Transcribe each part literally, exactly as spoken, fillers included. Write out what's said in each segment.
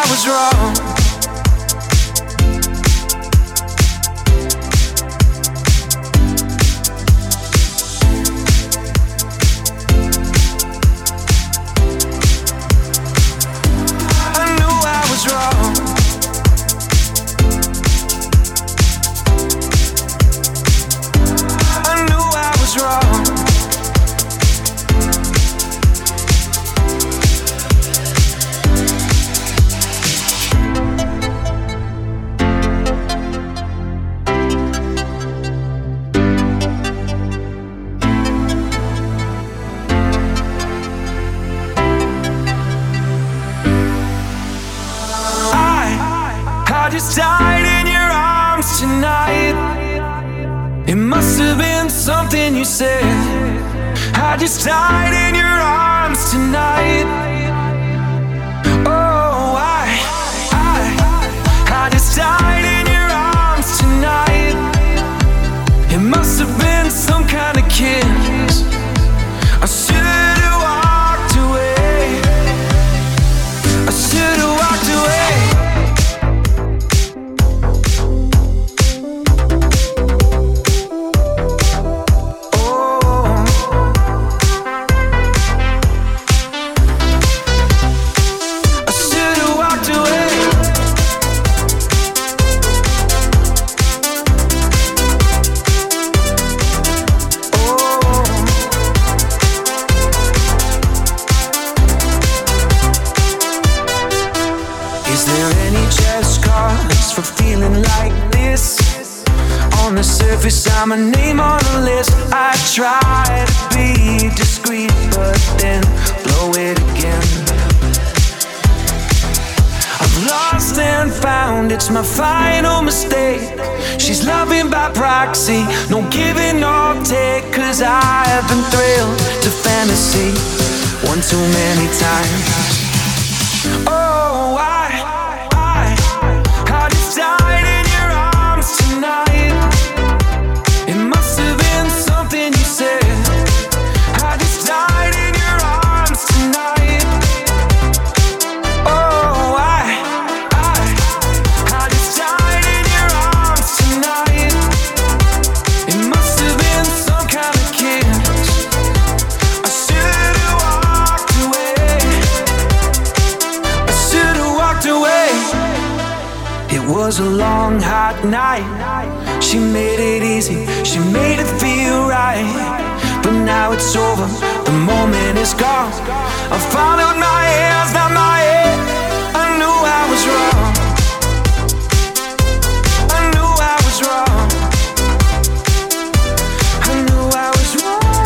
was wrong. I knew I was wrong. I knew I was wrong. I just died in your arms tonight. It must have been something you said. I just died in your arms tonight. Oh, I, I, I just died in your arms tonight. It must have been some kind of kiss. I should have walked away. I should have walked away. I'm a name on a list. I try to be discreet, but then blow it again. I've lost and found, it's my final mistake. She's loving by proxy, no giving or take. Cause I've been thrilled to fantasy one too many times. Oh, I, I, I just died in your arms tonight. It must have been something you said. I just died in your arms tonight. Oh, I, I, I just died in your arms tonight. It must have been some kind of kiss. I should have walked away. I should have walked away. It was a long, hot night. She made it easy, she made it feel right. But now it's over, the moment is gone. I followed my hands, not my head. I knew I was wrong. I knew I was wrong. I knew I was wrong.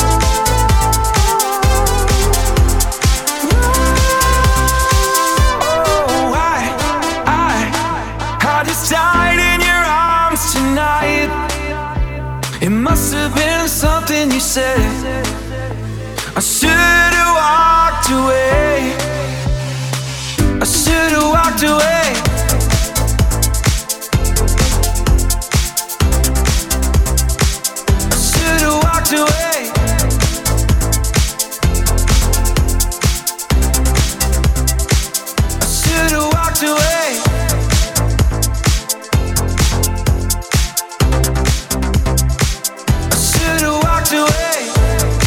Oh, I, I, I just died in your arms tonight. It must have been something you said. I should have walked away. I should have walked away. I should have walked away. I should have walked away. I should have walked away.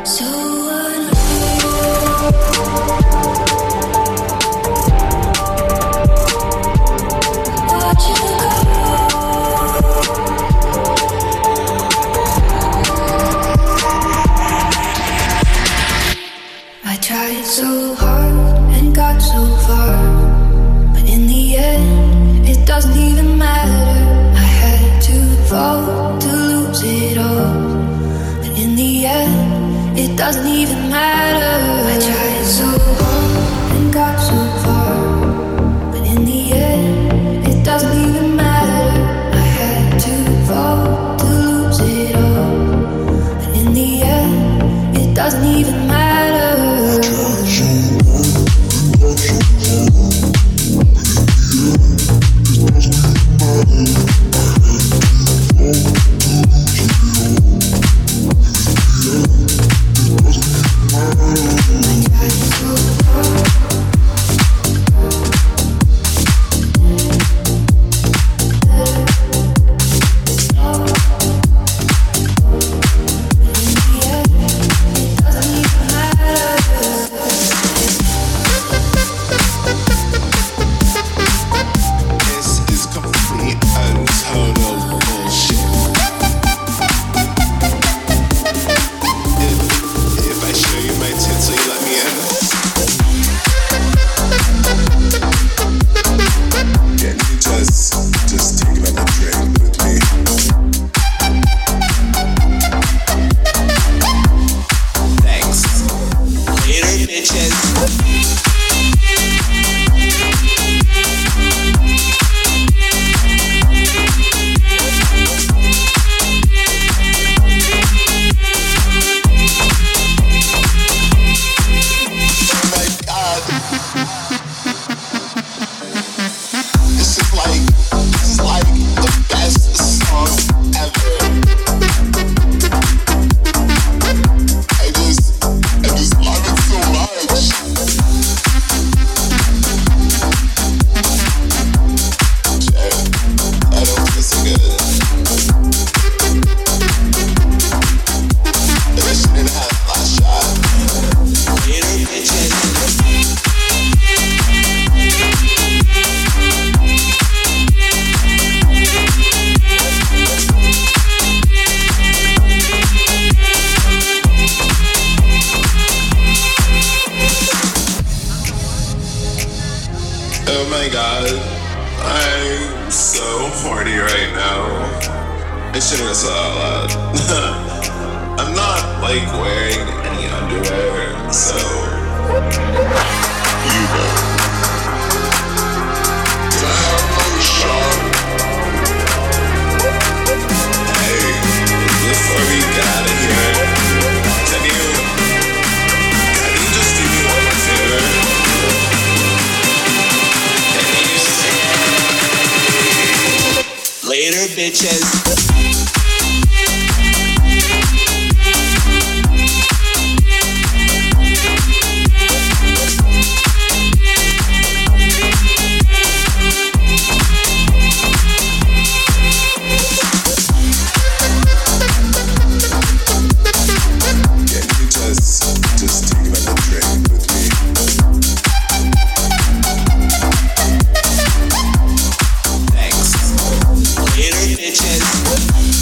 Bitches.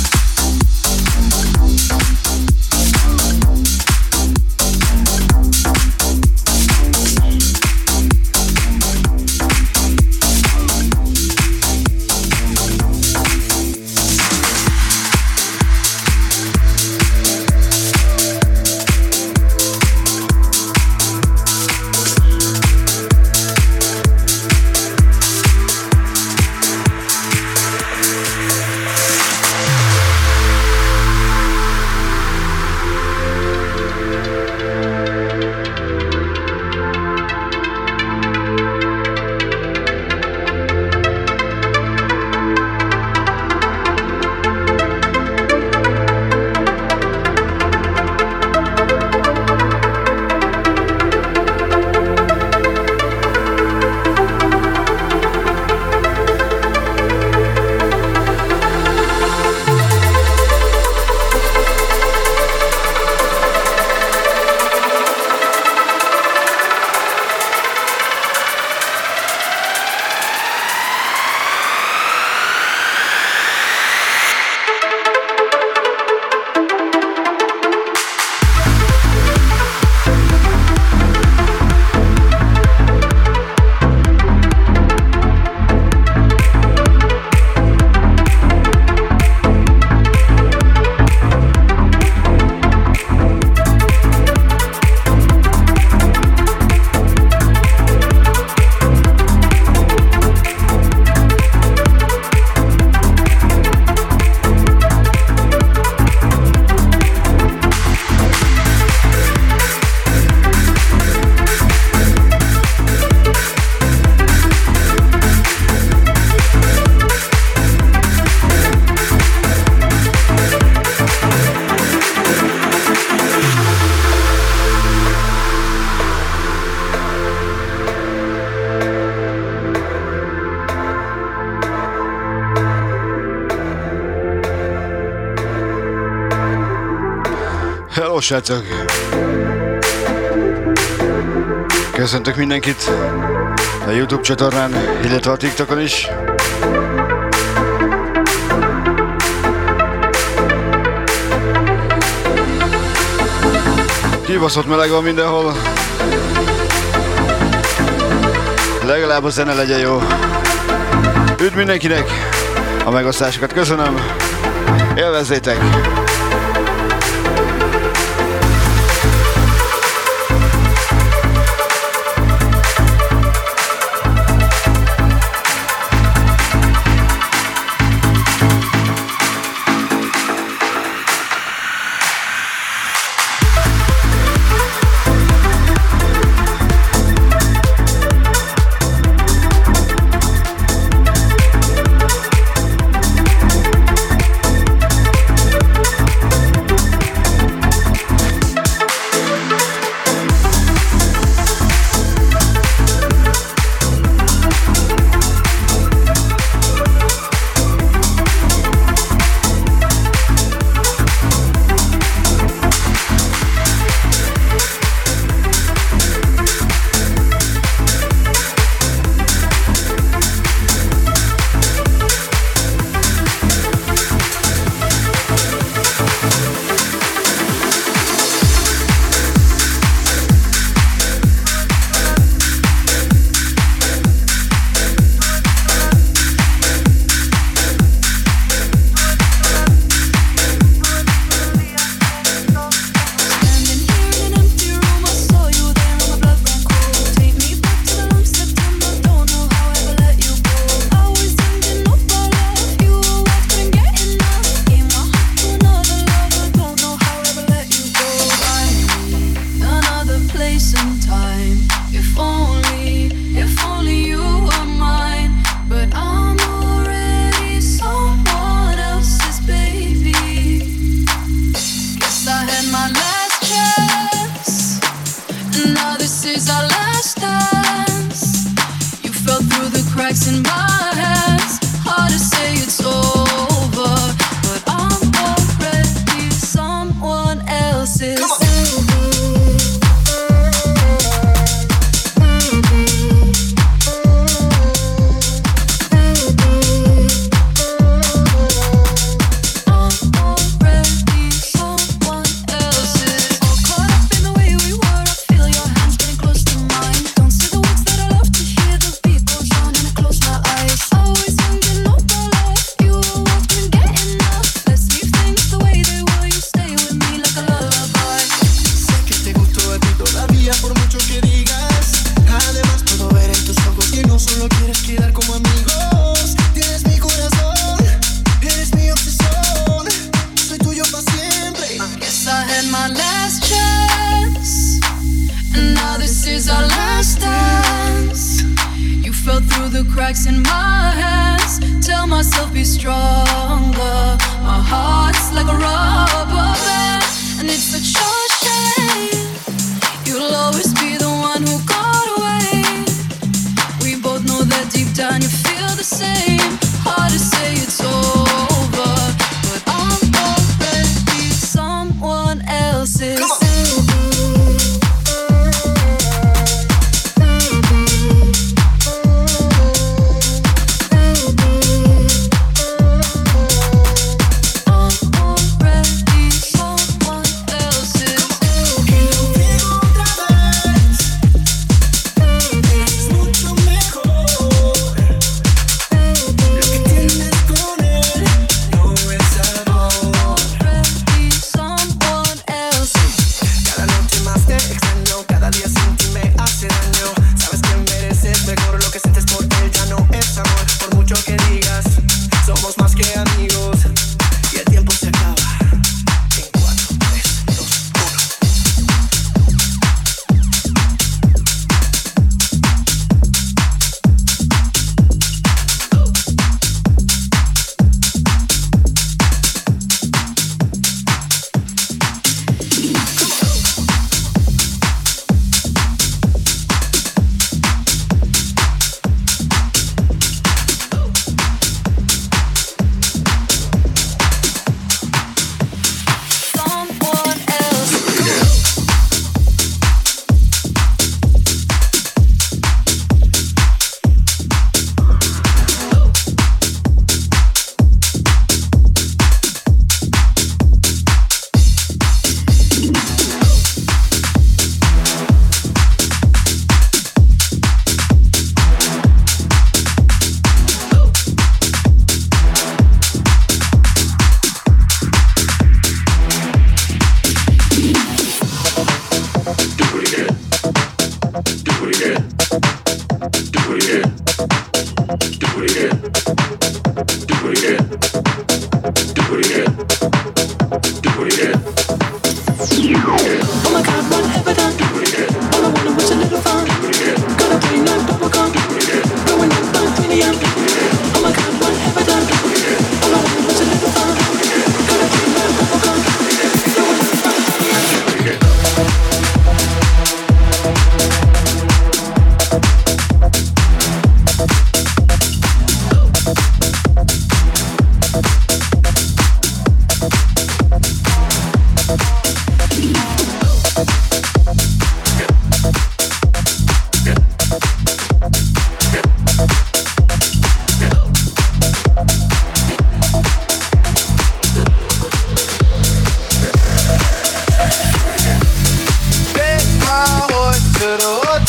srácok! Köszöntök mindenkit a YouTube csatornán, illetve a TikTokon is. Kibaszott meleg van mindenhol. Legalább a zene legyen jó. Üdv mindenkinek! A megosztásokat köszönöm. Élvezzétek!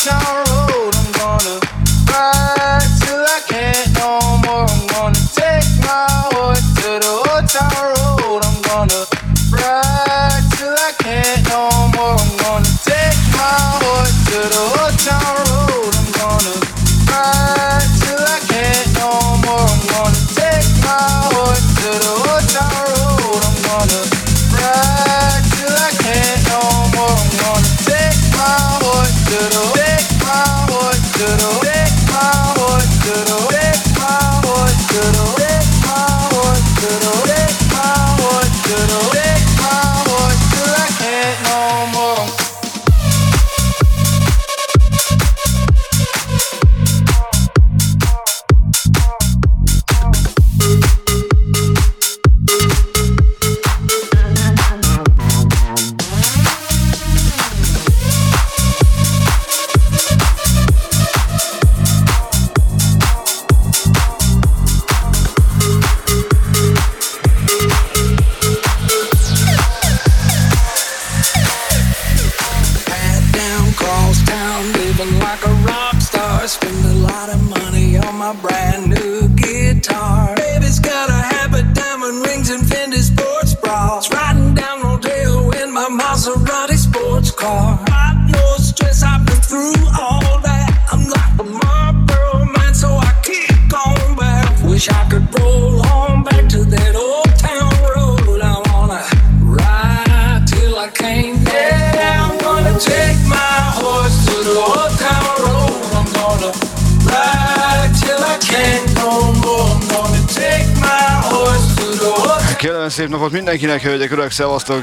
Szép napot mindenkinek, hölgyek, urak, szevasztok!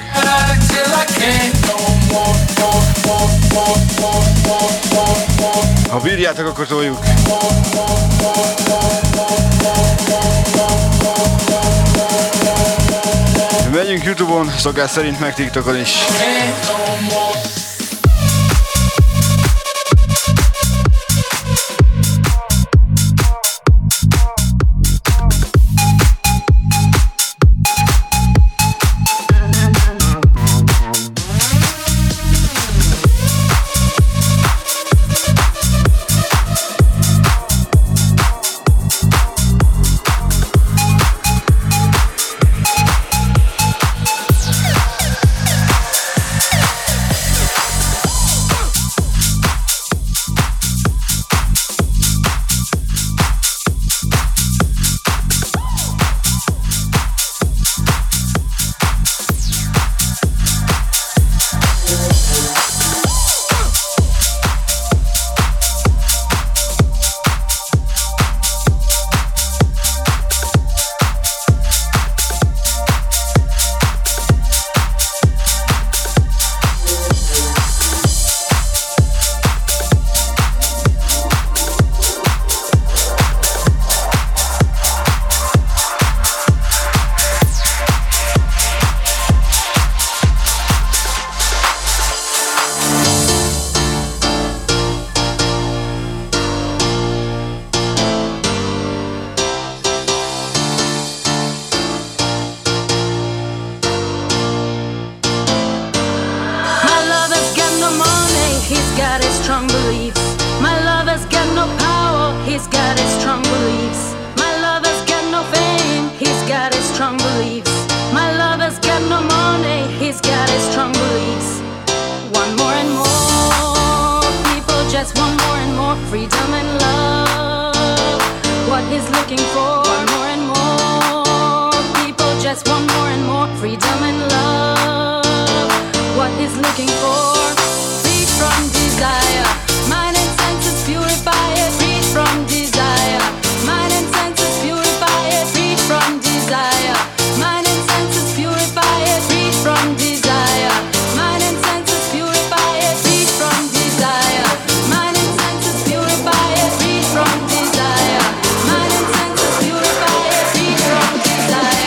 Ha bírjátok, akkor toljuk! Megyünk YouTube-on, szokás szerint meg TikTokon is.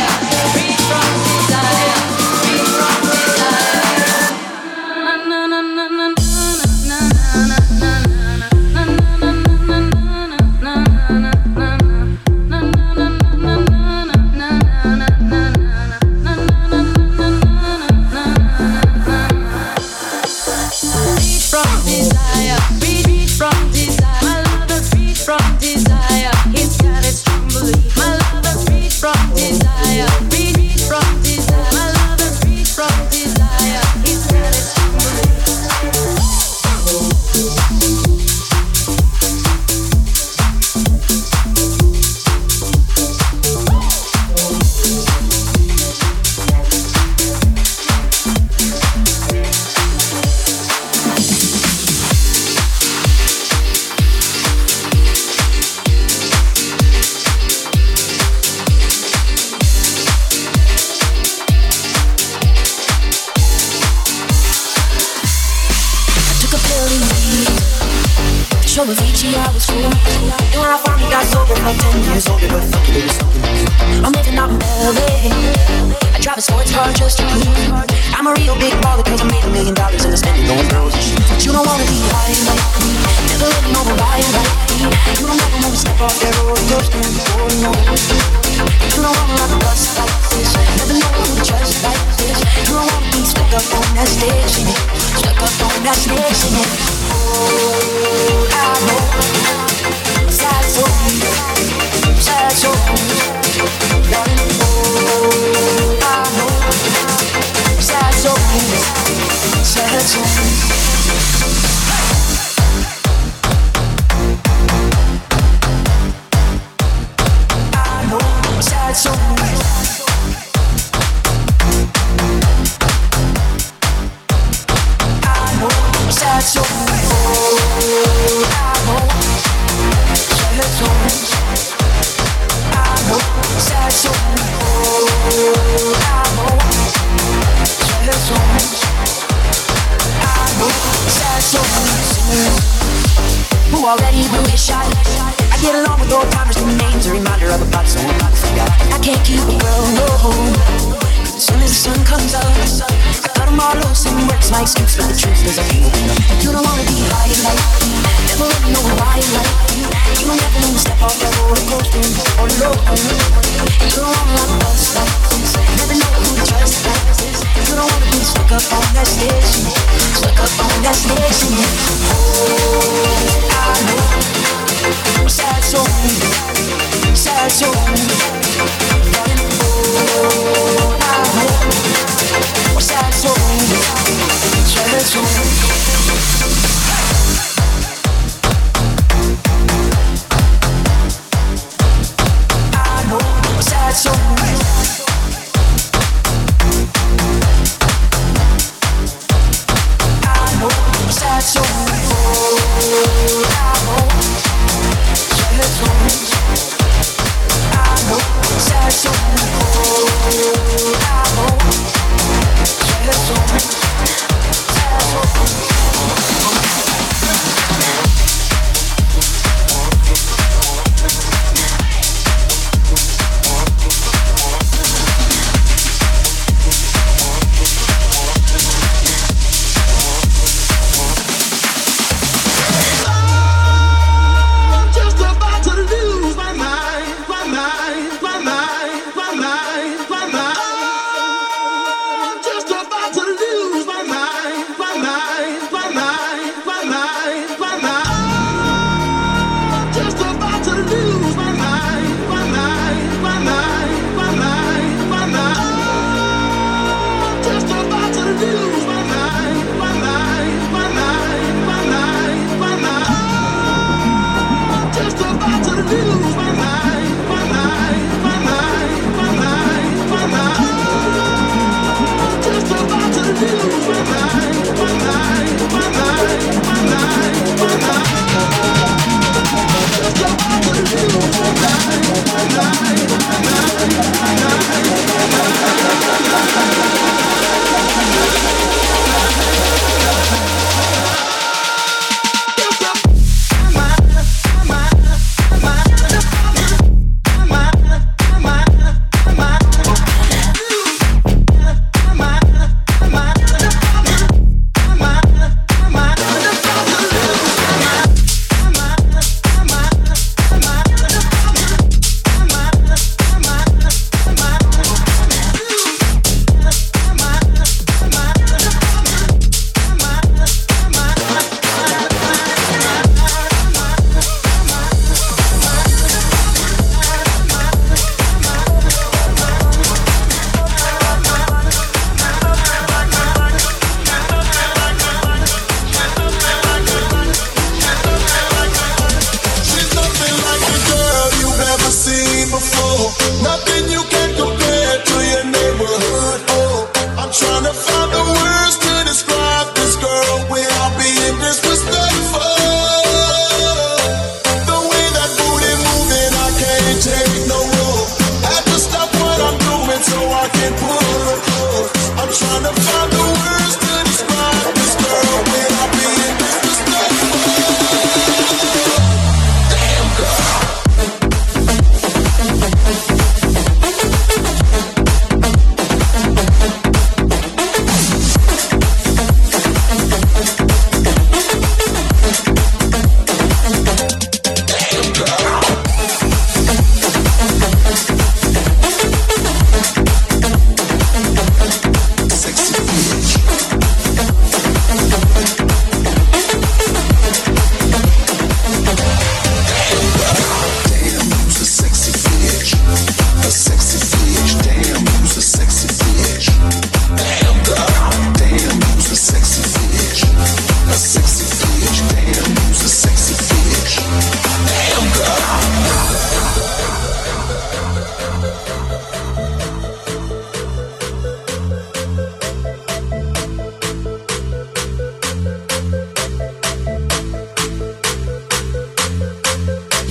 na na believe. Show me Avicii, I was cool. And when I finally got sober, felt ten years older, but fuck it, it was something new. I'm living out in L A. I drive a sports car just to prove I'm a real big baller, cause I made a million dollars and I spend it on girls. But you don't wanna be high like me, never let no one buy like me. You don't ever wanna step off that roller coaster and go no. You don't wanna ride a bus like this, never know who to trust like this. You don't wanna be stuck up on that stage singing, stuck up on that stage singing. Oh, I know, sad songs, sad songs, darling. Oh, I know, sad songs, sad songs. Sad songs. I know sad songs. Oh, I know sad songs. I know sad songs. Oh, I know sad songs. I know sad songs. Who already blew his shot? I get along with old timers, new names, a reminder of a pot so I'm not forgot. I can't keep a girl, no. As soon as the sun comes up, I cut them all loose and works my excuse, but the truth is I can't open up. You don't wanna be high like me, never let me know why like me. You don't ever wanna step off that roller coaster or low. You don't wanna ride a bus like this, never know who to trust like this. You don't wanna be stuck up on that station, stuck up on that station. Oh, I know. Sad songs, sad songs, darling. Oh, I know. Sad songs, sad songs. I know sad songs. I know sad songs.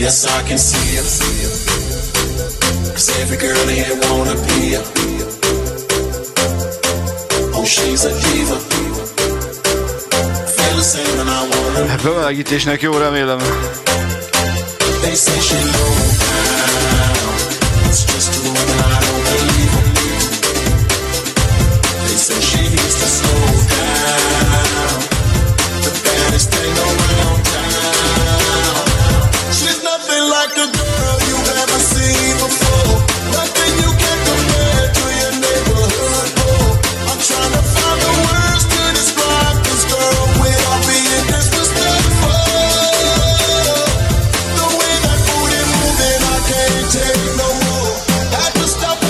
Yes, I can see her. Cause every girl here wanna be her. Oh, she's a diva. Feel the same when I wanna. Hát bemelegítésnek jó, remélem. They say she low down. It's just a woman, I don't believe her. They say she needs to slow down. The baddest thing around town. She's nothing like a girl you've ever seen before. Nothing you can compare to your neighborhood boy. I'm trying to find the words to describe this girl without being disrespectful. The way that booty moving, I can't take no more. Had to stop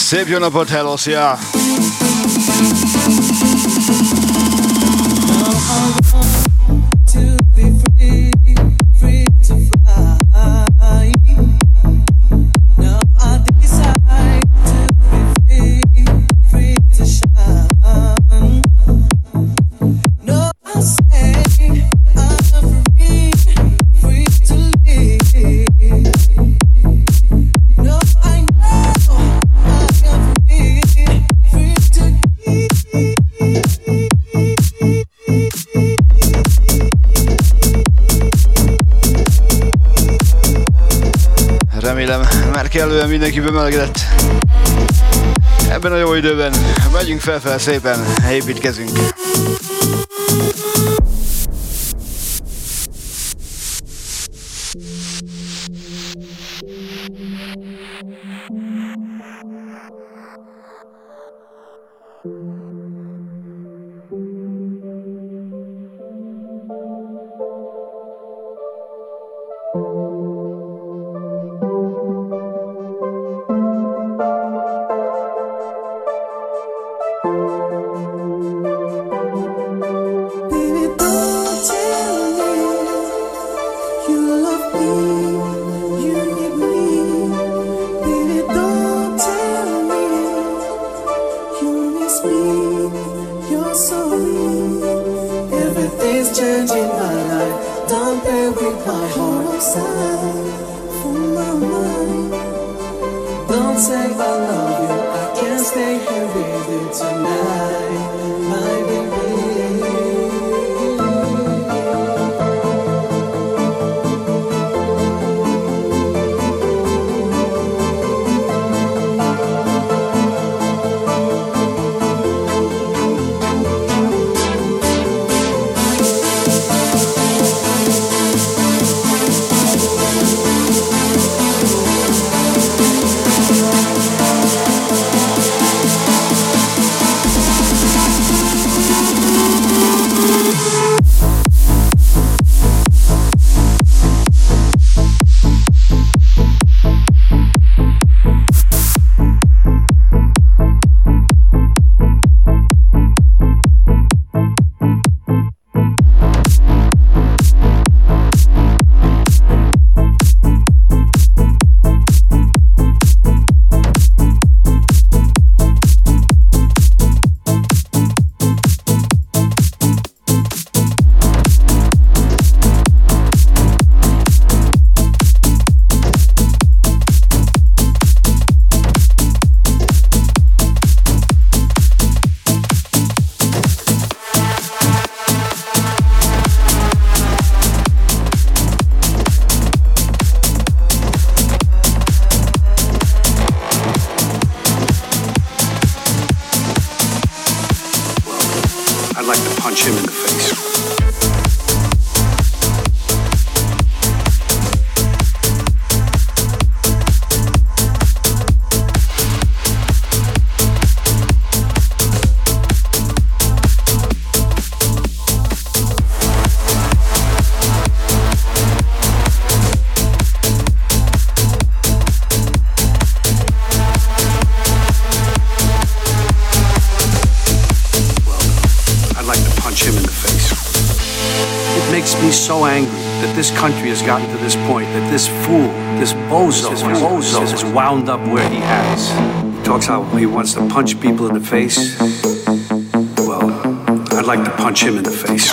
Szép jó napot, hello, szia! Már kellően mindenki bemelegedett. Ebben a jó időben megyünk felfel szépen, építkezünk. So angry that this country has gotten to this point, that this fool, this bozo, this bozo is wound up where he has. He talks how he wants to punch people in the face. Well, I'd like to punch him in the face.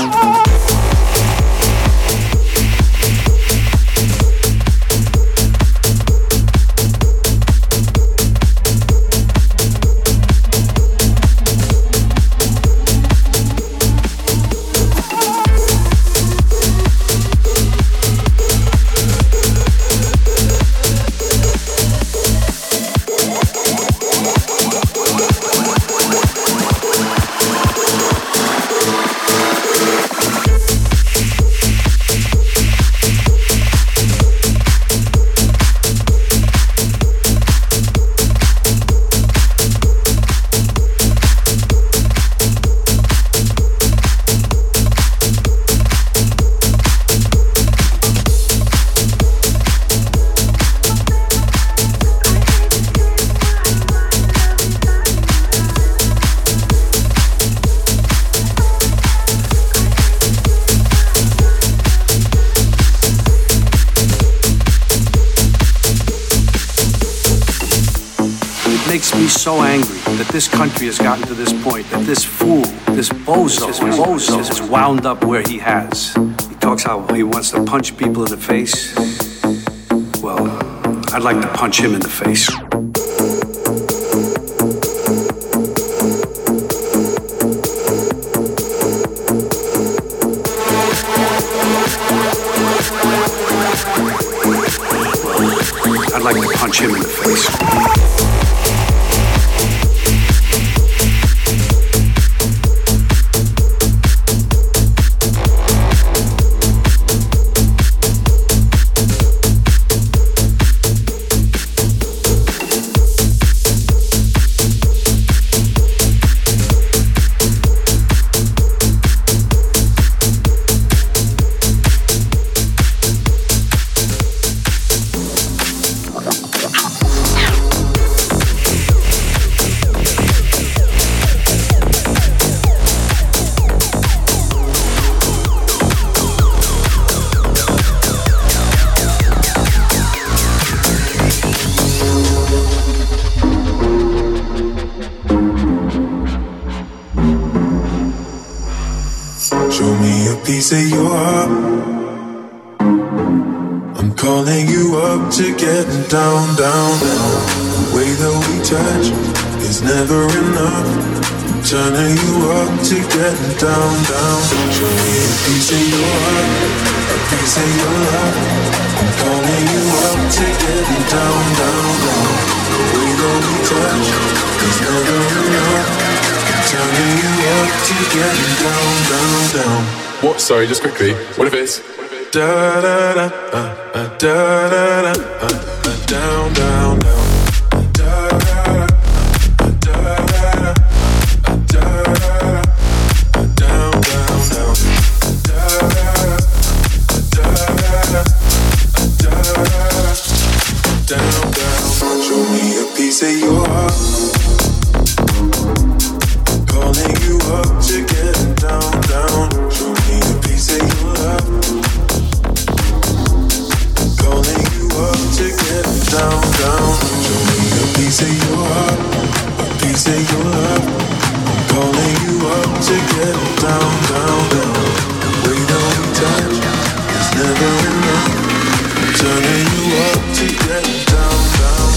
me so angry that this country has gotten to this point, that this fool, this bozo, this bozo is wound up where he has. He talks how he wants to punch people in the face. Well, I'd like to punch him in the face. I'd like to punch him in the face. Piece of your heart. I'm calling you up to getting down, down, down. The way that we touch is never enough. I'm turning you up to getting down, down. Show me a piece of your heart, a piece of your love. I'm calling you up to getting down, down, down. The way that we touch is never enough. I'm turning you up to getting down, down, down. What? Sorry, just quickly. What if it's da da da uh, uh, da da da uh, uh, down down down da da da da da da da down down down da da da da down down. Show me a piece of your heart. Calling you up to get down down. Show me a piece of your love. Calling you up to get down, down. Show me a piece of your heart, a piece of your love. I'm calling you up to get down, down, down. The way that we touch is never enough. I'm turning you up to get down, down.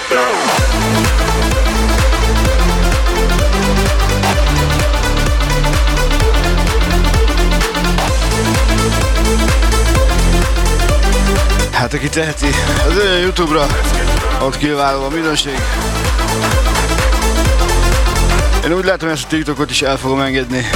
Hát aki teheti, az olyan YouTube-ra, ott kiváló a minőség. Én úgy látom, hogy ezt a TikTokot is el fogom engedni.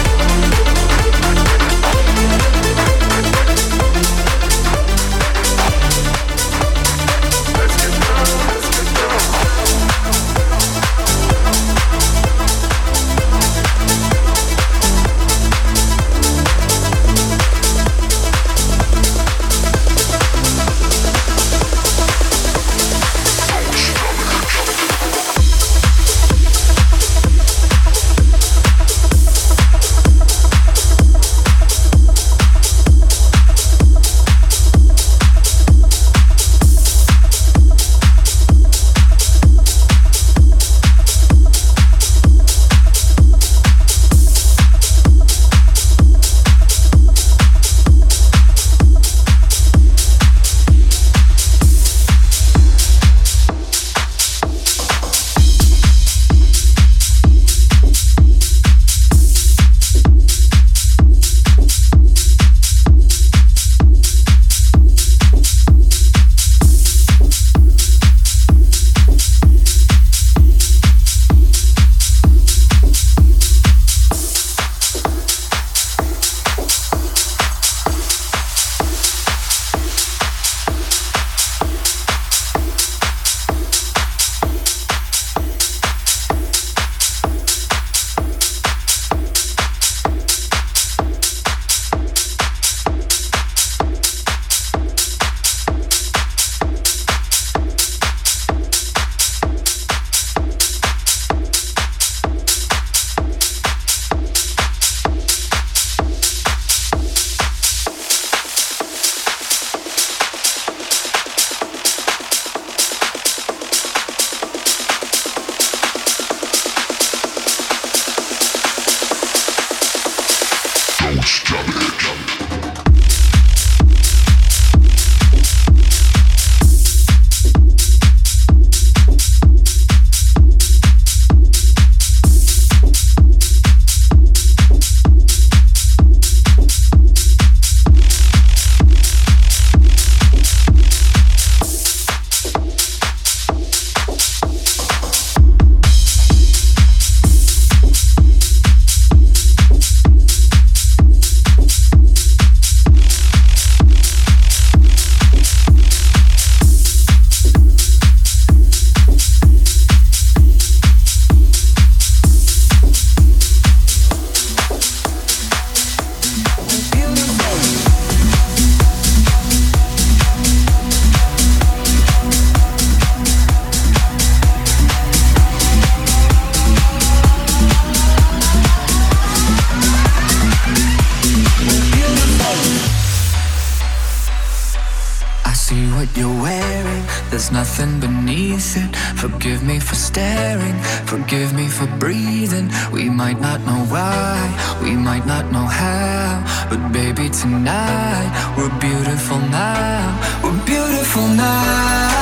Nothing beneath it. Forgive me for staring, forgive me for breathing. We might not know why, we might not know how, but baby tonight we're beautiful now. We're beautiful now.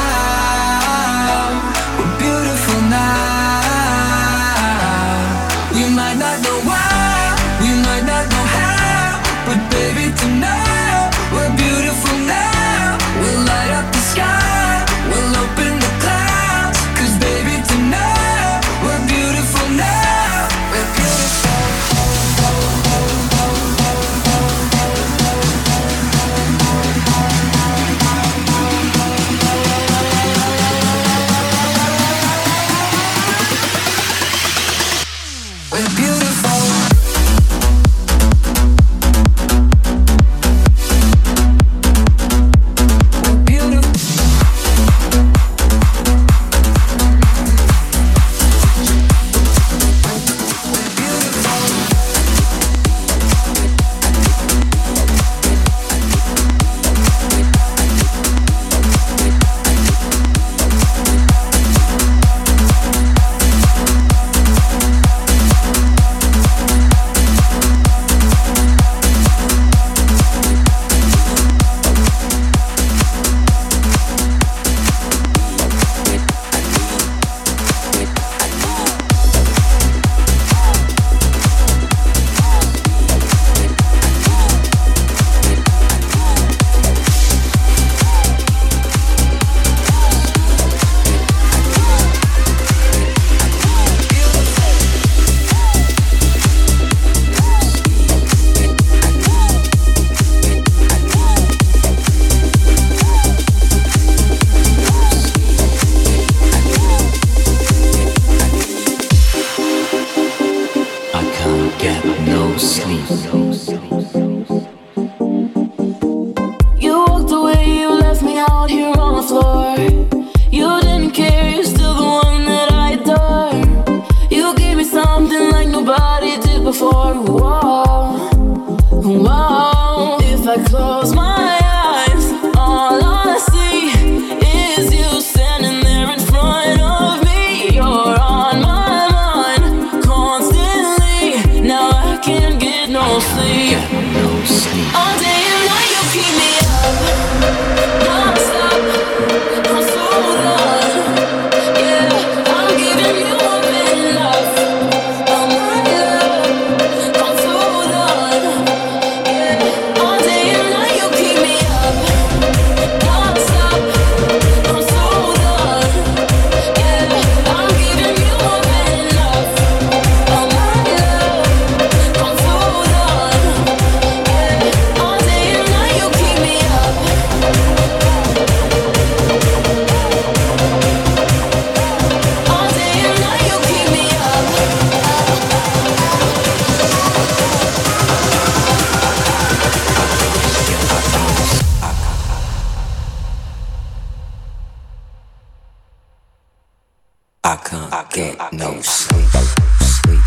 We're beautiful now. We might not know why, we might not know how, but baby tonight we're beautiful now. We'll light up the sky, we'll open the clouds, 'cause baby tonight we're beautiful now. We're beautiful. get no sleep. You walked away, you left me out here on the floor. You didn't care, you're still the one that I adore. You gave me something like nobody did before. Whoa, whoa. If I close my eyes, all I see is you standing there in front of me. You're on my mind constantly. Now I can't get no sleep. No sleep. All day and night you keep me up, non-stop. I'm so done. Yeah, I'm giving you more than enough. Oh my love, I'm so done. Yeah, all day and night you keep me up, non-stop. I'm so done. Yeah, I'm giving you more than enough. Oh my love, I'm so done. Yeah, all day and night you keep me up. All day and night you keep me up. I can't get no sleep. Sleep.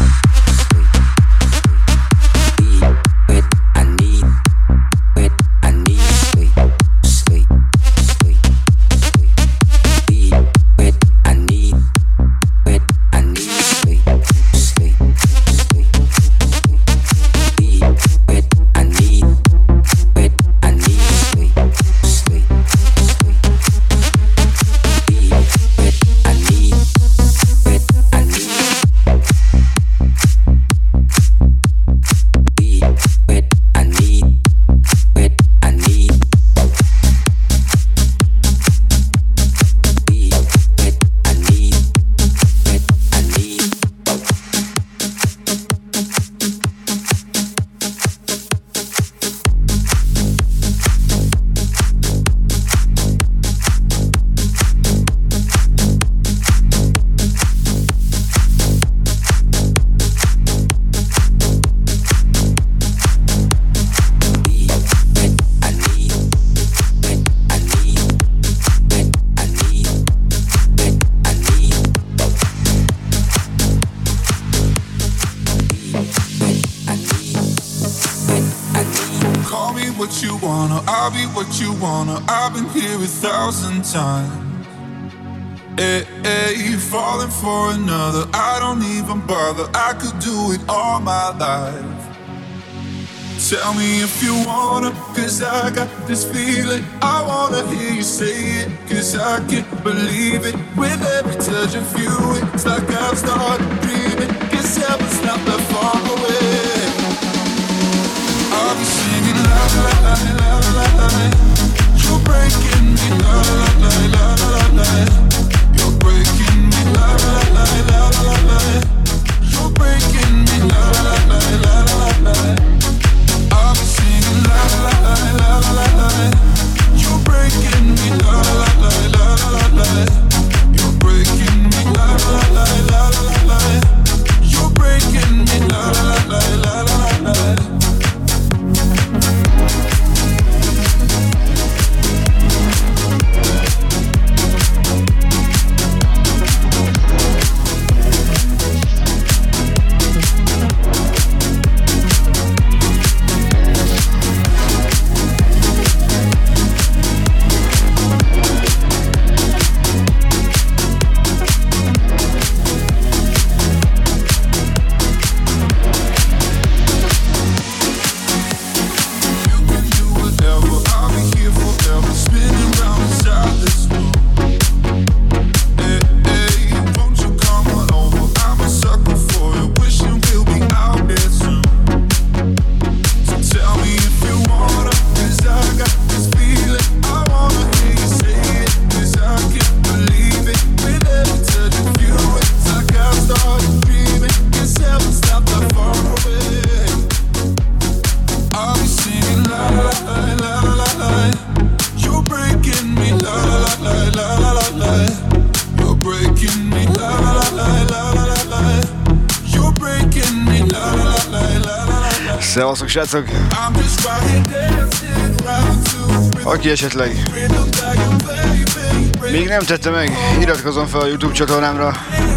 When I need, when I need sleep, sleep, sleep, sleep. When I need, when I need sleep, sleep, sleep, sleep. When I need, when I need sleep, sleep, sleep. When I need, when I need. When I need, when I need, when I need, when I need. Call me what you wanna, I'll be what you wanna. I've been here a thousand times. Hey, hey, falling for another, I don't even bother. I could do it all my life. Tell me if you wanna, cause I got this feeling. I wanna hear you say it, cause I can't believe it. With every touch of you, it's like I've started dreaming. Cause heaven's not that far away. I'll be singing la la la la la la la. You're breaking me la la la la la la. You're breaking me la la la la la la. You're breaking me la la la la la la. I'll be singing la la la la la la. You're breaking me la la la la la la. You're breaking me la la la la la la. You're breaking me la la la Szevasztok, srácok! Aki esetleg még nem tette meg, iratkozzon fel a YouTube csatornámra.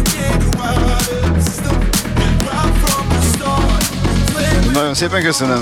Nagyon szépen köszönöm!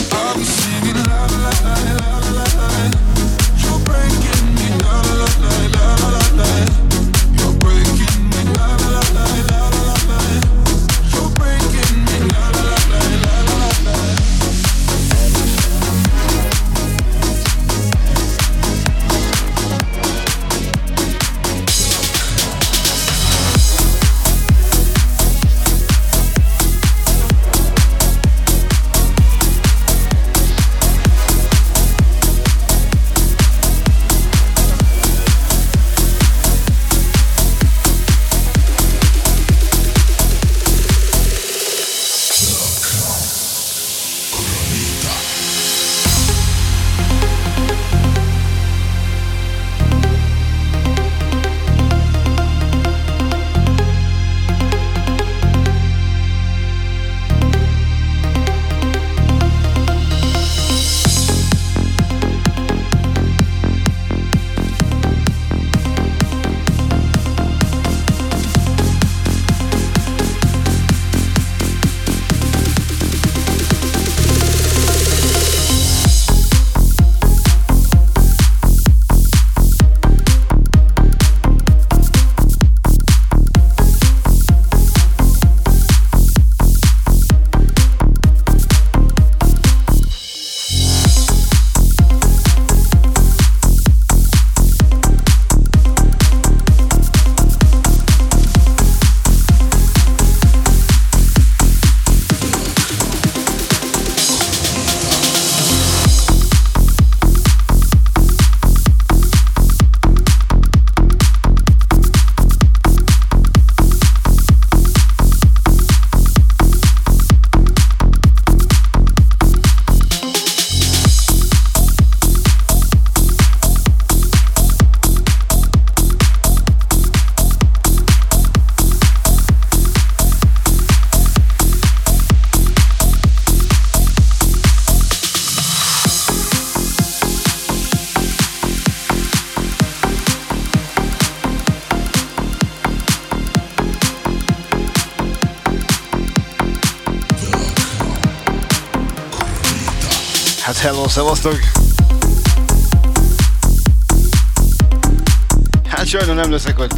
Hello, szevasztok! Hát sajnos nem leszek ott.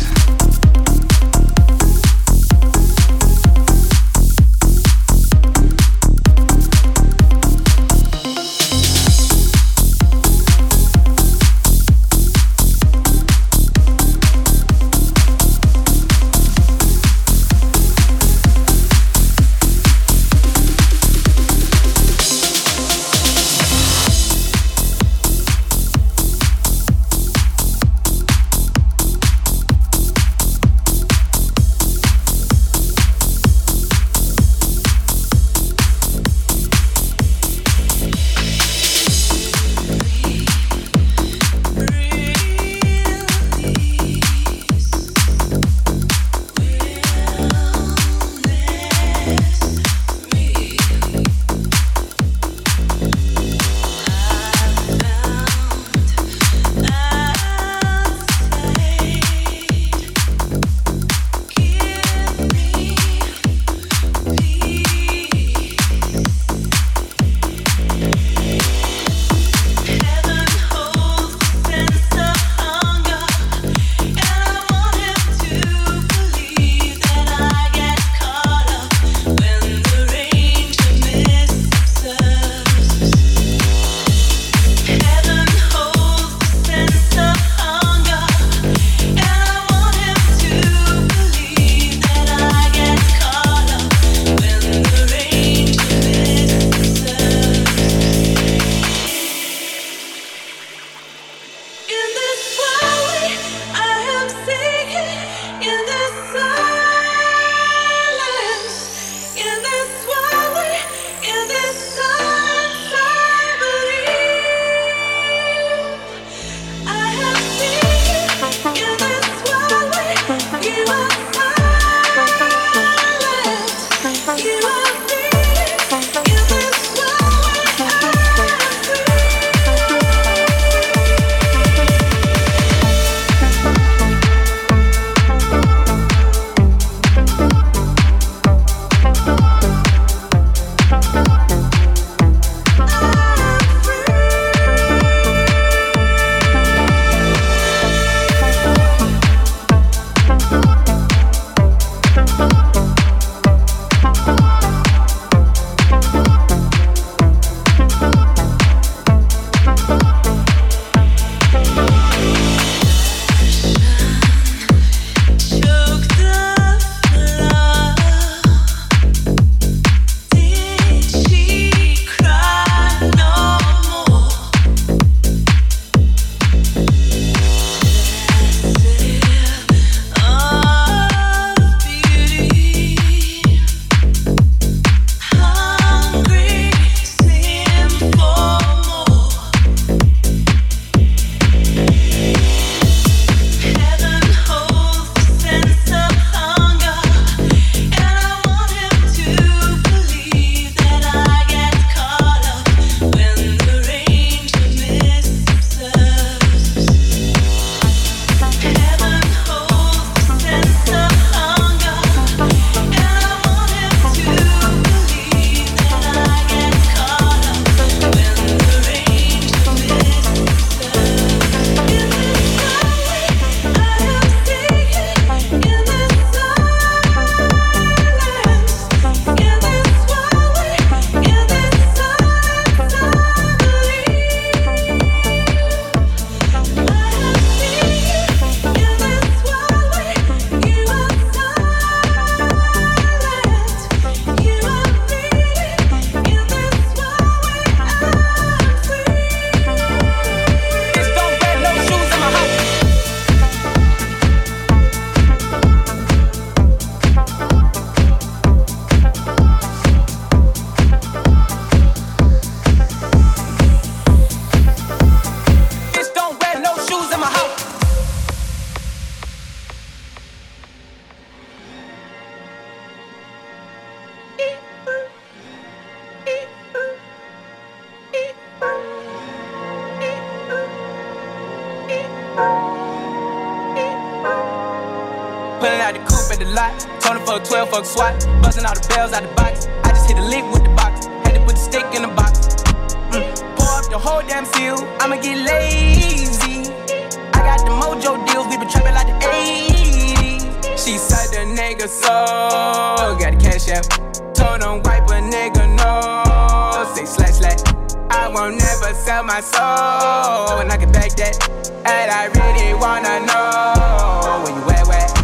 lot. Told him fuck twelve, fuck SWAT. Buzzing all the bells out the box. I just hit a lick with the box. Had to put the stick in the box. Mm. Pour up the whole damn seal. I'ma get lazy. I got the mojo deals. We been trapping like the eighties. She said the nigga so got the cash out. Told him wipe a nigga no. Say slash slash. I won't never sell my soul. And I can back that. And I really wanna know where you at, where?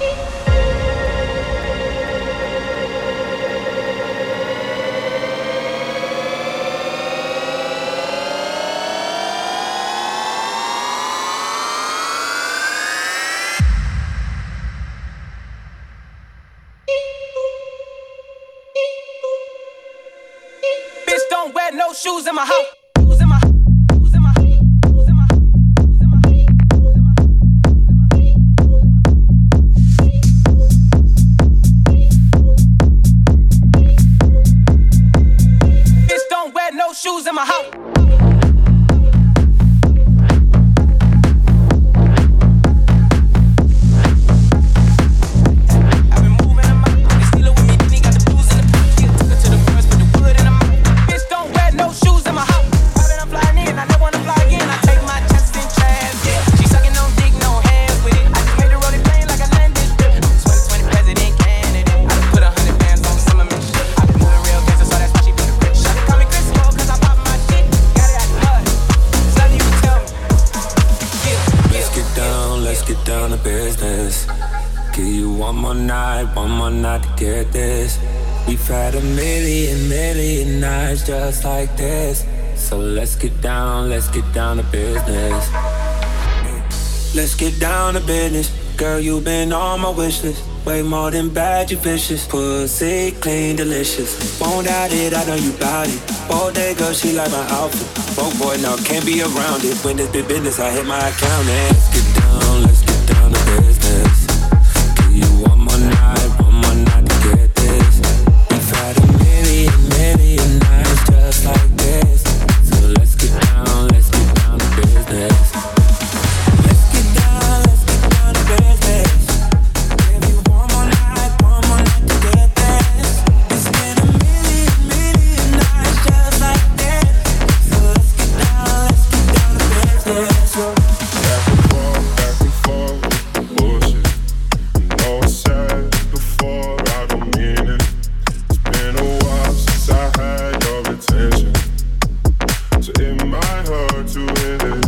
Bitch, don't wear no shoes in my house. Shoes in my house. Get this. We've had a million, million nights just like this. So let's get down, let's get down to business. Let's get down to business. Girl, you've been on my wish list. Way more than bad, you vicious. Pussy clean, delicious. Won't doubt it, I know you bout it. Bodega, she like my outfit. Broke boy, now can't be around it. When it's big business, I hit my account. And let's get down, let's get down to business. Give you one more night, one more night to get this. We've had a million, million nights just like this. So let's get down, let's get down to business. Let's get down, let's get down to business. Give you one more night, one more night to get this. It's been a million, million nights just like this. So let's get down, let's get down to business. Back and forth, back and forth with the bullshit. You know I said before, I don't mean it. It's been a while since I had your attention, so it might hurt to hit it.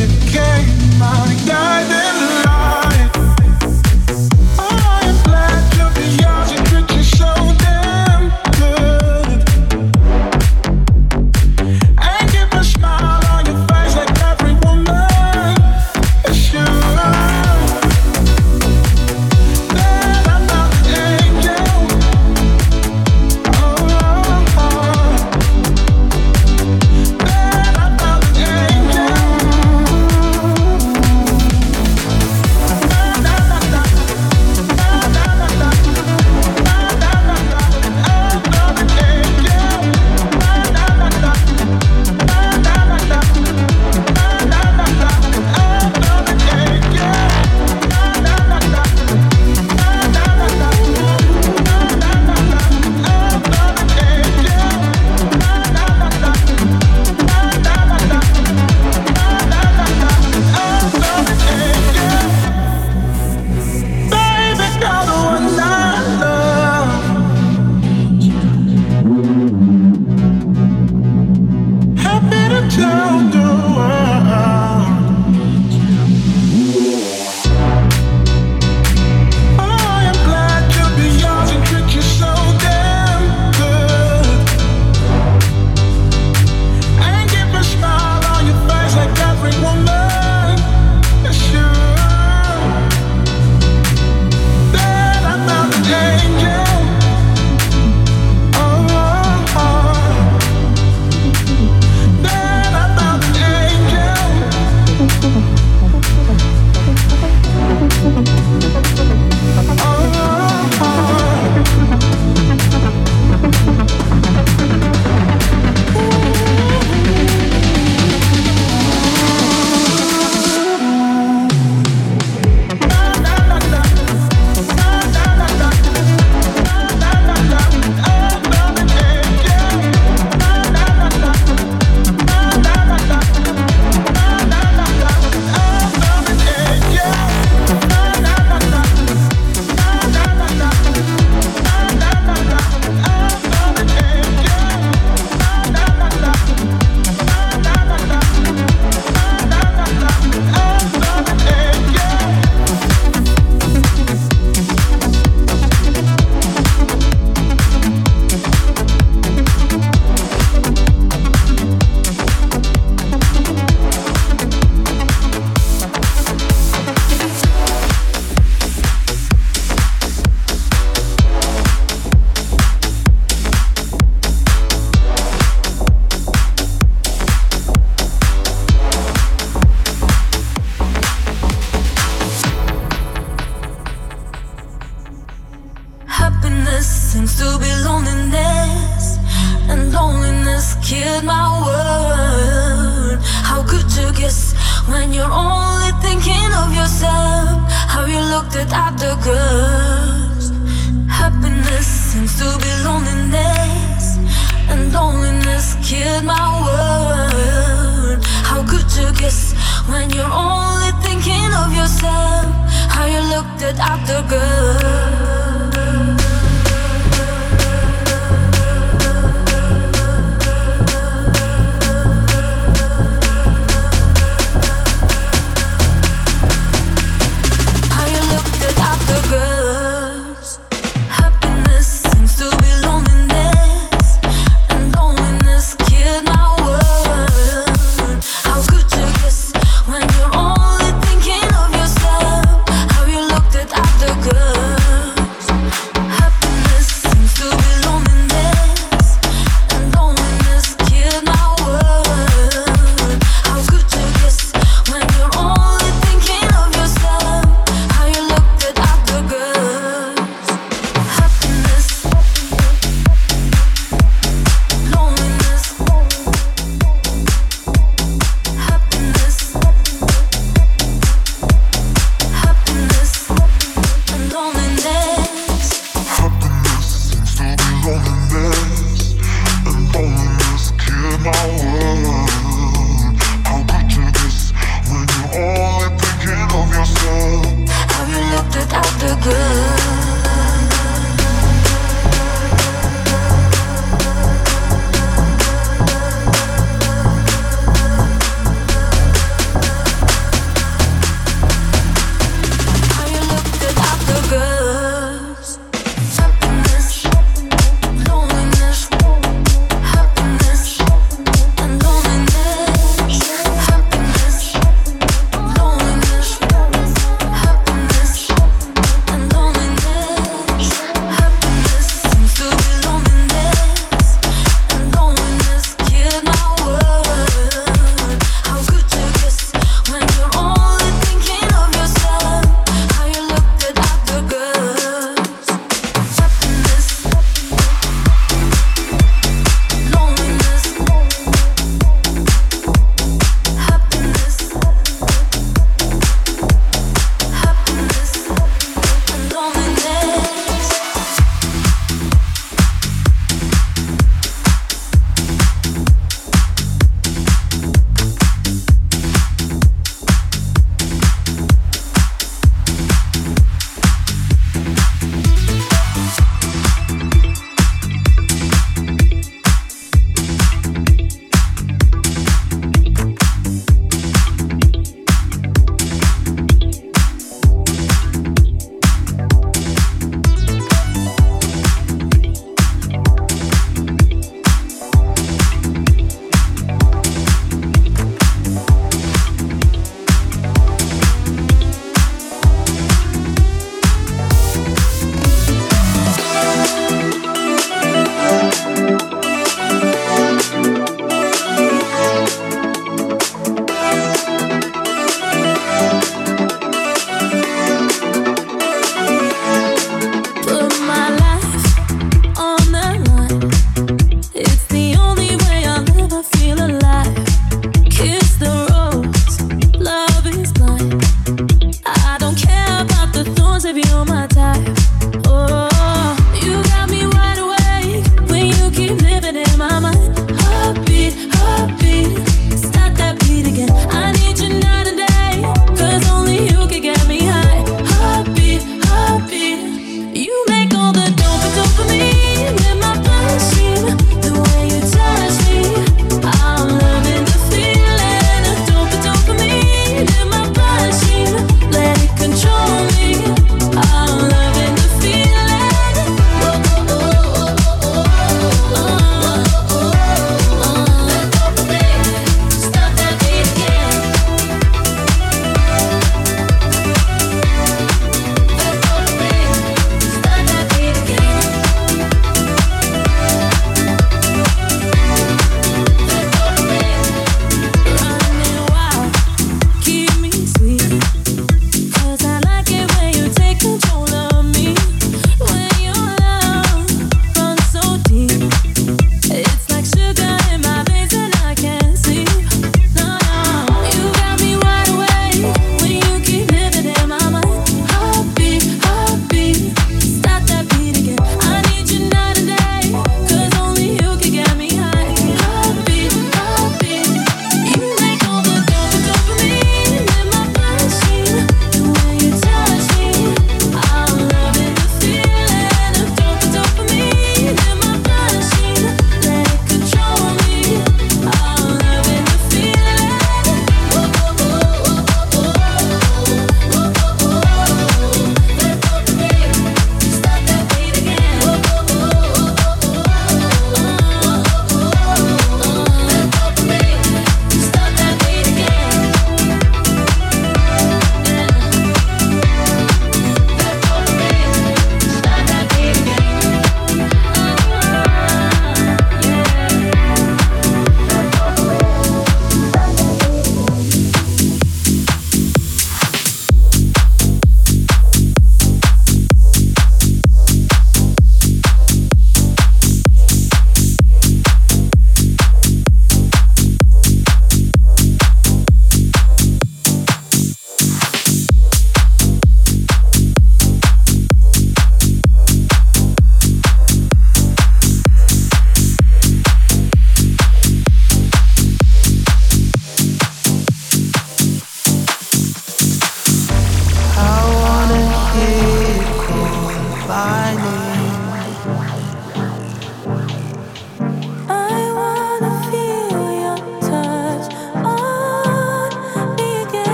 Guiding light. Oh, I'm glad loneliness killed my world. How could you guess when you're only thinking of yourself? How you looked at other girls. Happiness seems to be loneliness, and loneliness killed my world. How could you guess when you're only thinking of yourself? How you looked at other girls. Girls. Happiness seems to be loneliness, and loneliness killed my world. How could you guess when you're only thinking of yourself? How you looked at other girls. Happiness seems to be loneliness, and loneliness killed my world. How could you guess when you're only thinking of yourself? How you looked at other girls. Happiness, loneliness, happiness, happiness, and loneliness. Happiness seems to be loneliness, and loneliness killed my world. How could you guess when you're only thinking of yourself? Have you looked at other girls? How you looked at other girls? Happiness, loneliness, happiness,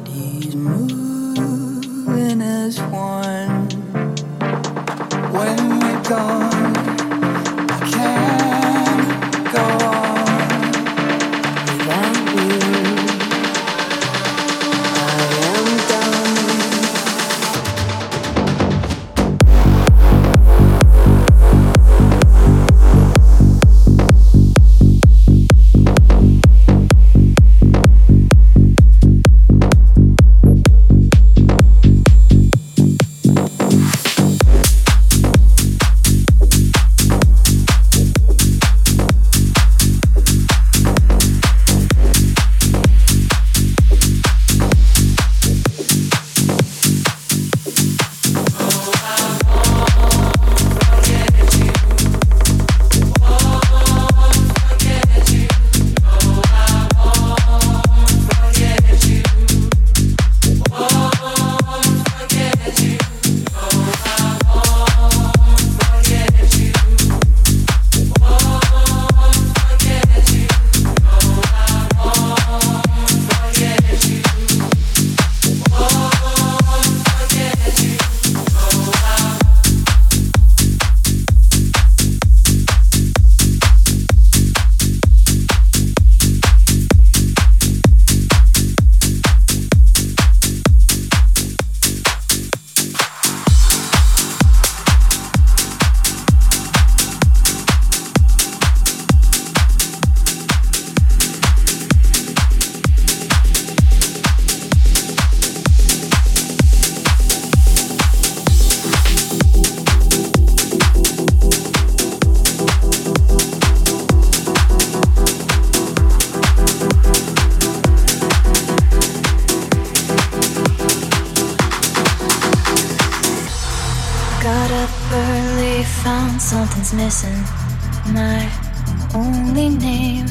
bodies moving as one. When you're gone, I can't go on without you. I am done. Something's missing, my only name.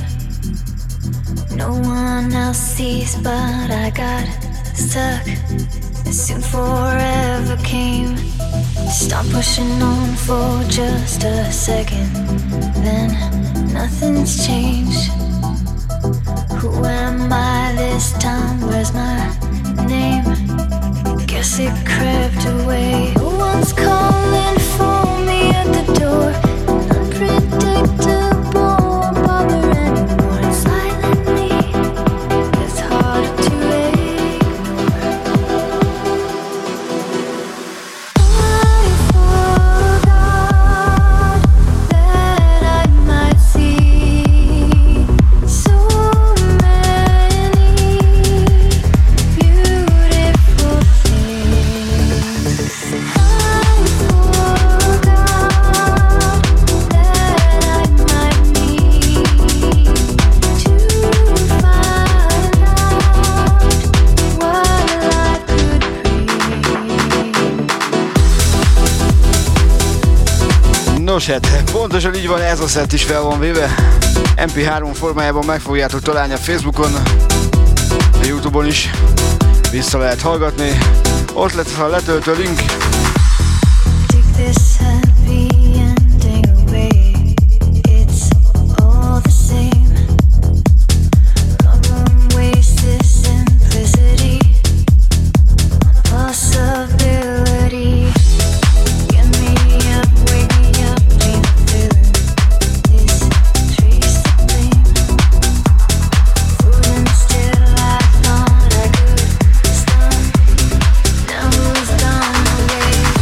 No one else sees, but I got stuck. And soon forever came. Stop pushing on for just a second, then nothing's changed. Who am I this time? Where's my name? Guess it crept away. No one's calling for me at the door. Unpredictable, bother anymore. And silently, it's hard to ignore. I forgot that I might see so many beautiful things. I forgot that I might need to find out what life could bring. Nos hát, pontosan így van, ez a szett is fel van véve. em pé három formájában meg fogjátok találni a Facebookon, a YouTube-on is. Vissza lehet hallgatni. Ott lesz a letöltő link. Take this happy ending away. It's all the same. Love won't waste this simplicity on possibility. Get me up, wake me up, dream of feeling this trace of flame. Fooling still, I thought I could stop. Now who's gone away?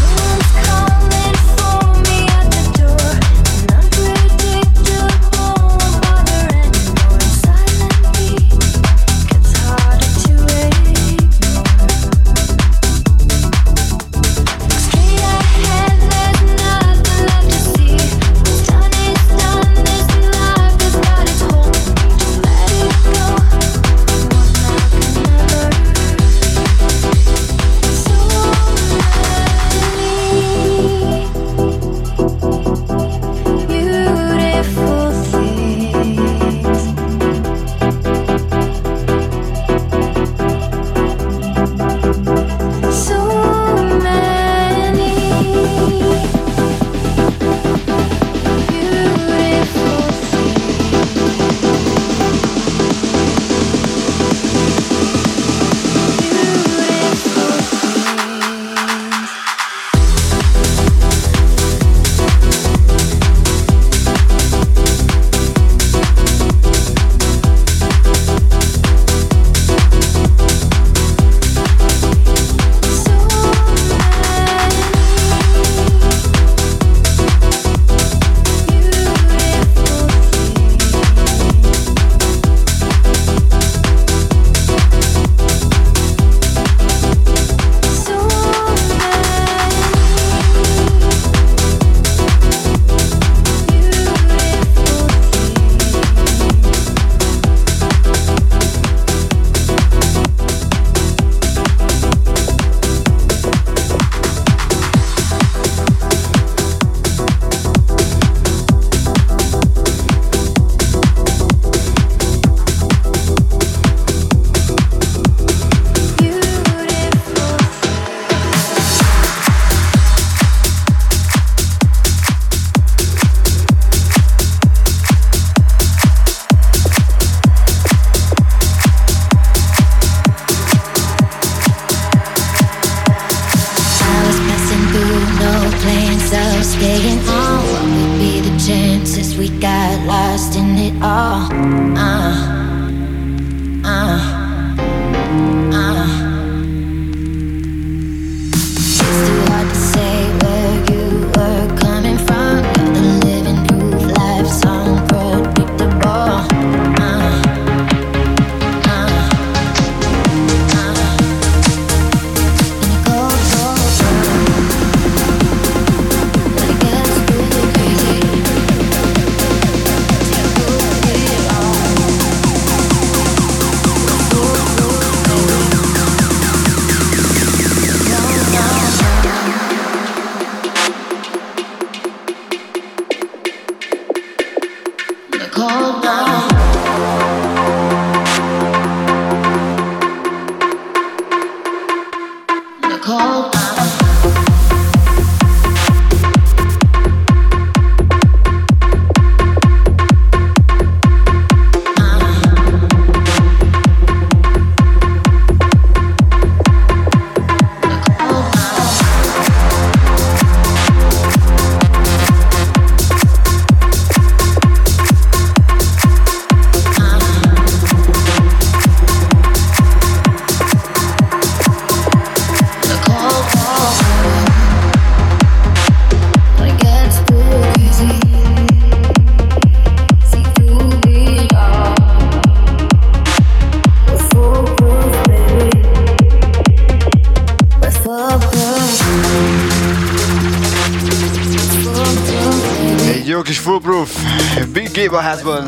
Foolproof, Big Gabe a házban.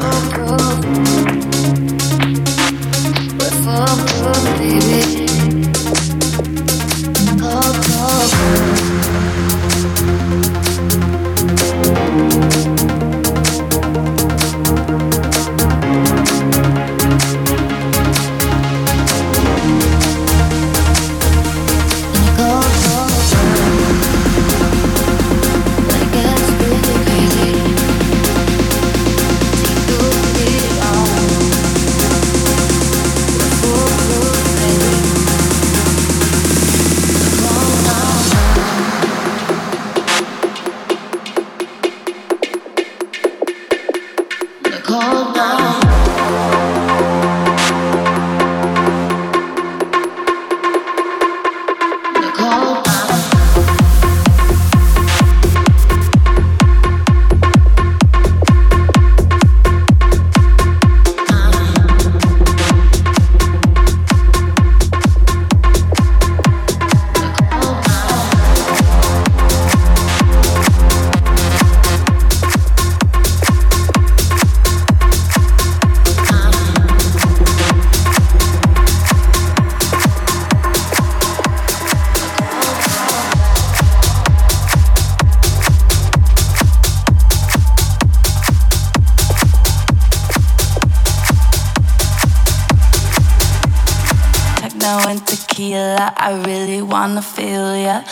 I really wanna feel ya.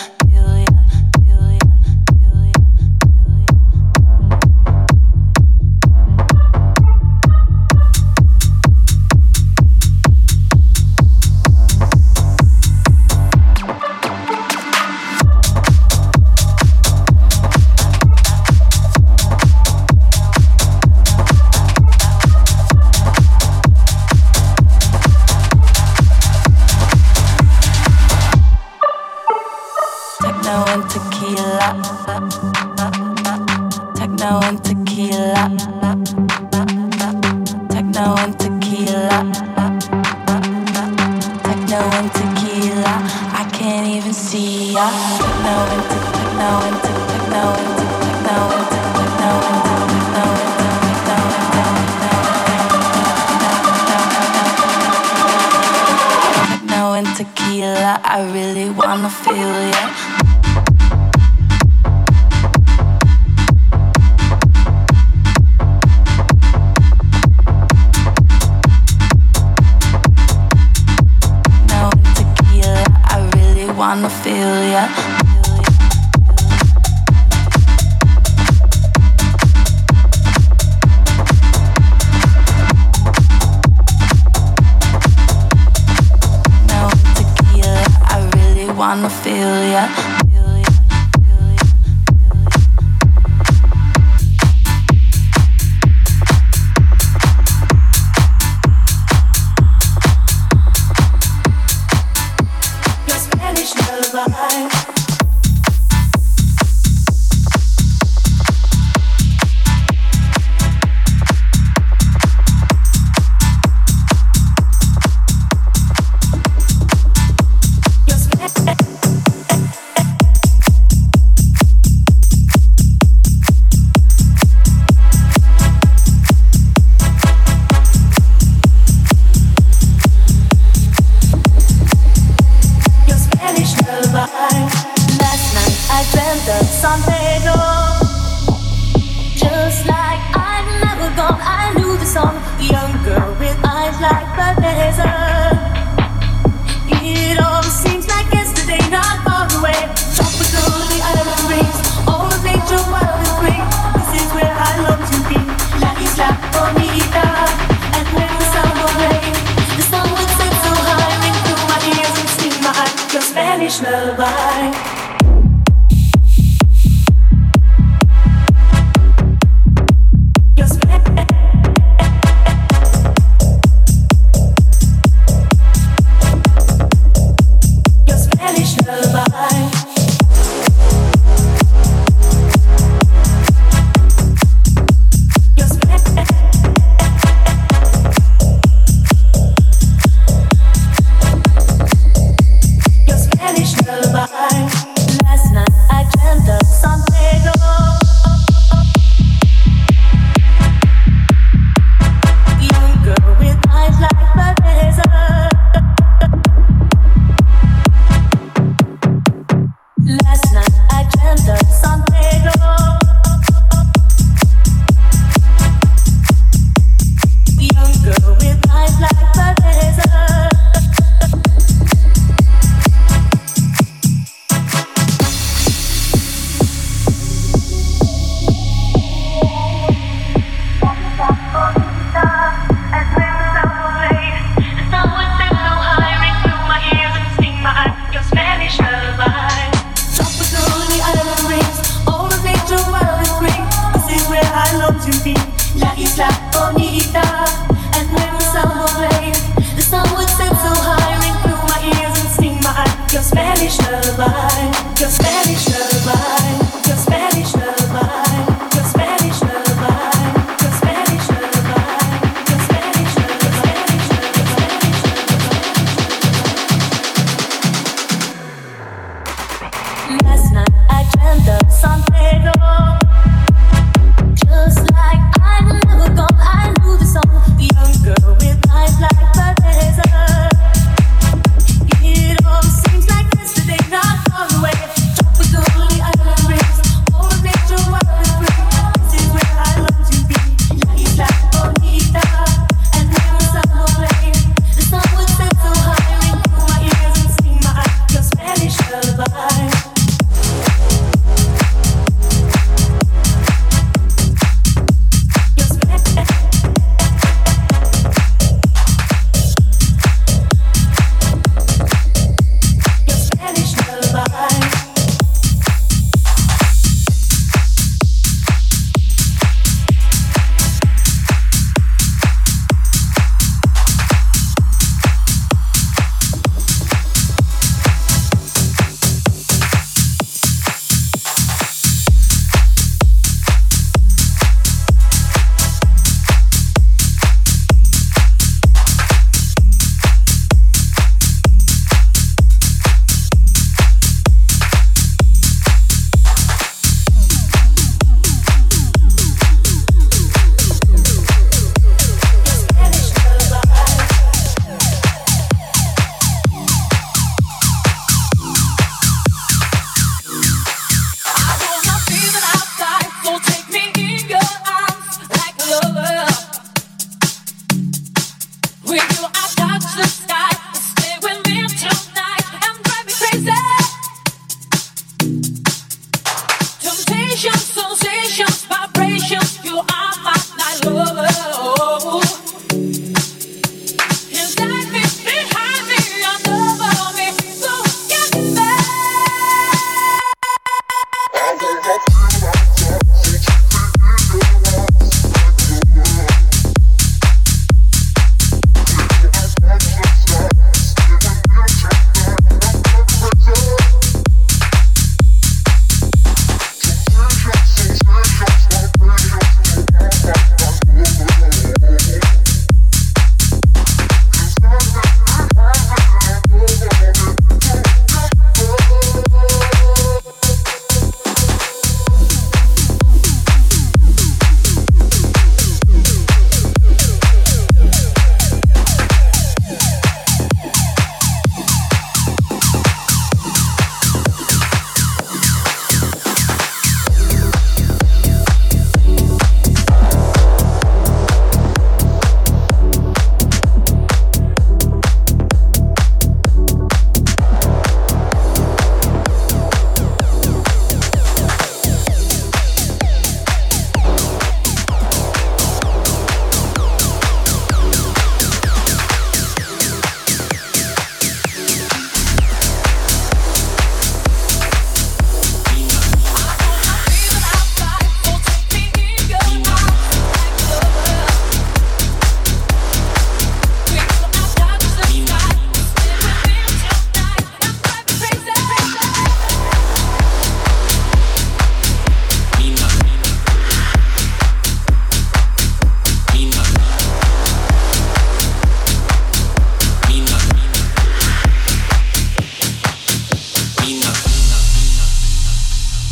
Spanish lullaby.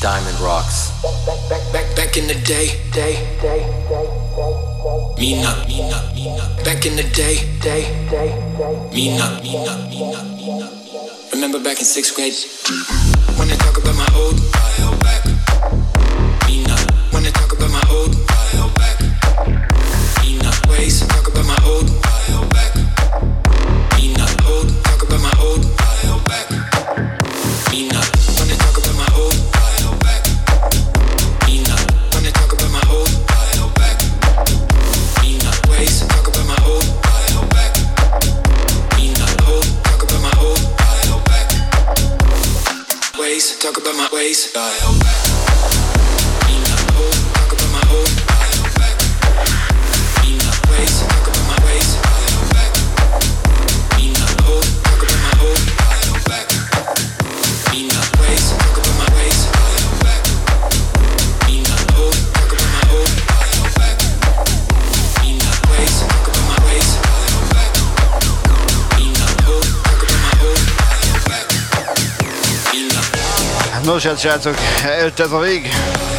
diamond rocks. Back, back, back in the day, day, day, day, day, Mina, Mina, Mina. Back in the day, day, day, day, Mina, Mina, Mina, Mina. Remember back in sixth grade, when they talk about my old file back. Mina, when they talk about my old file back. Mina, ways talk about my old file back. Mina, old talk about my old file back. Mina, when they talk about my old file back. Mina, when they talk about my old file back. Mina, ways talk about my old file back. Mina, old talk about my old file back. Ways talk about my ways file back. Mina, old talk about my old file back. Mina, ways talk about my ways file back. Mina, old talk about my old file back. Mina, ways talk about my ways file back. Mina, old talk about my old file back. Mina, ways talk about my ways file back. Mina, old talk about my old file back. Mina. Nos hát srácok, eljött ez a vég.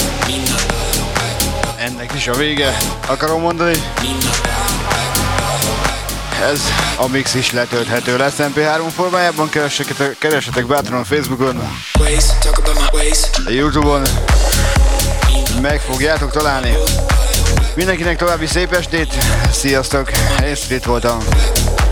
Ennek is a vége, akarom mondani. Ez a mix is letölthető lesz em pé három formájában, keressetek, keressetek bátran a Facebookon, a YouTube-on, meg fogjátok találni. Mindenkinek további szép estét, sziasztok, én Street voltam.